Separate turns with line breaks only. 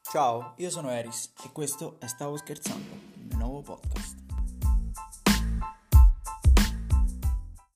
Ciao, io sono Eris e questo è Stavo Scherzando, il mio nuovo podcast.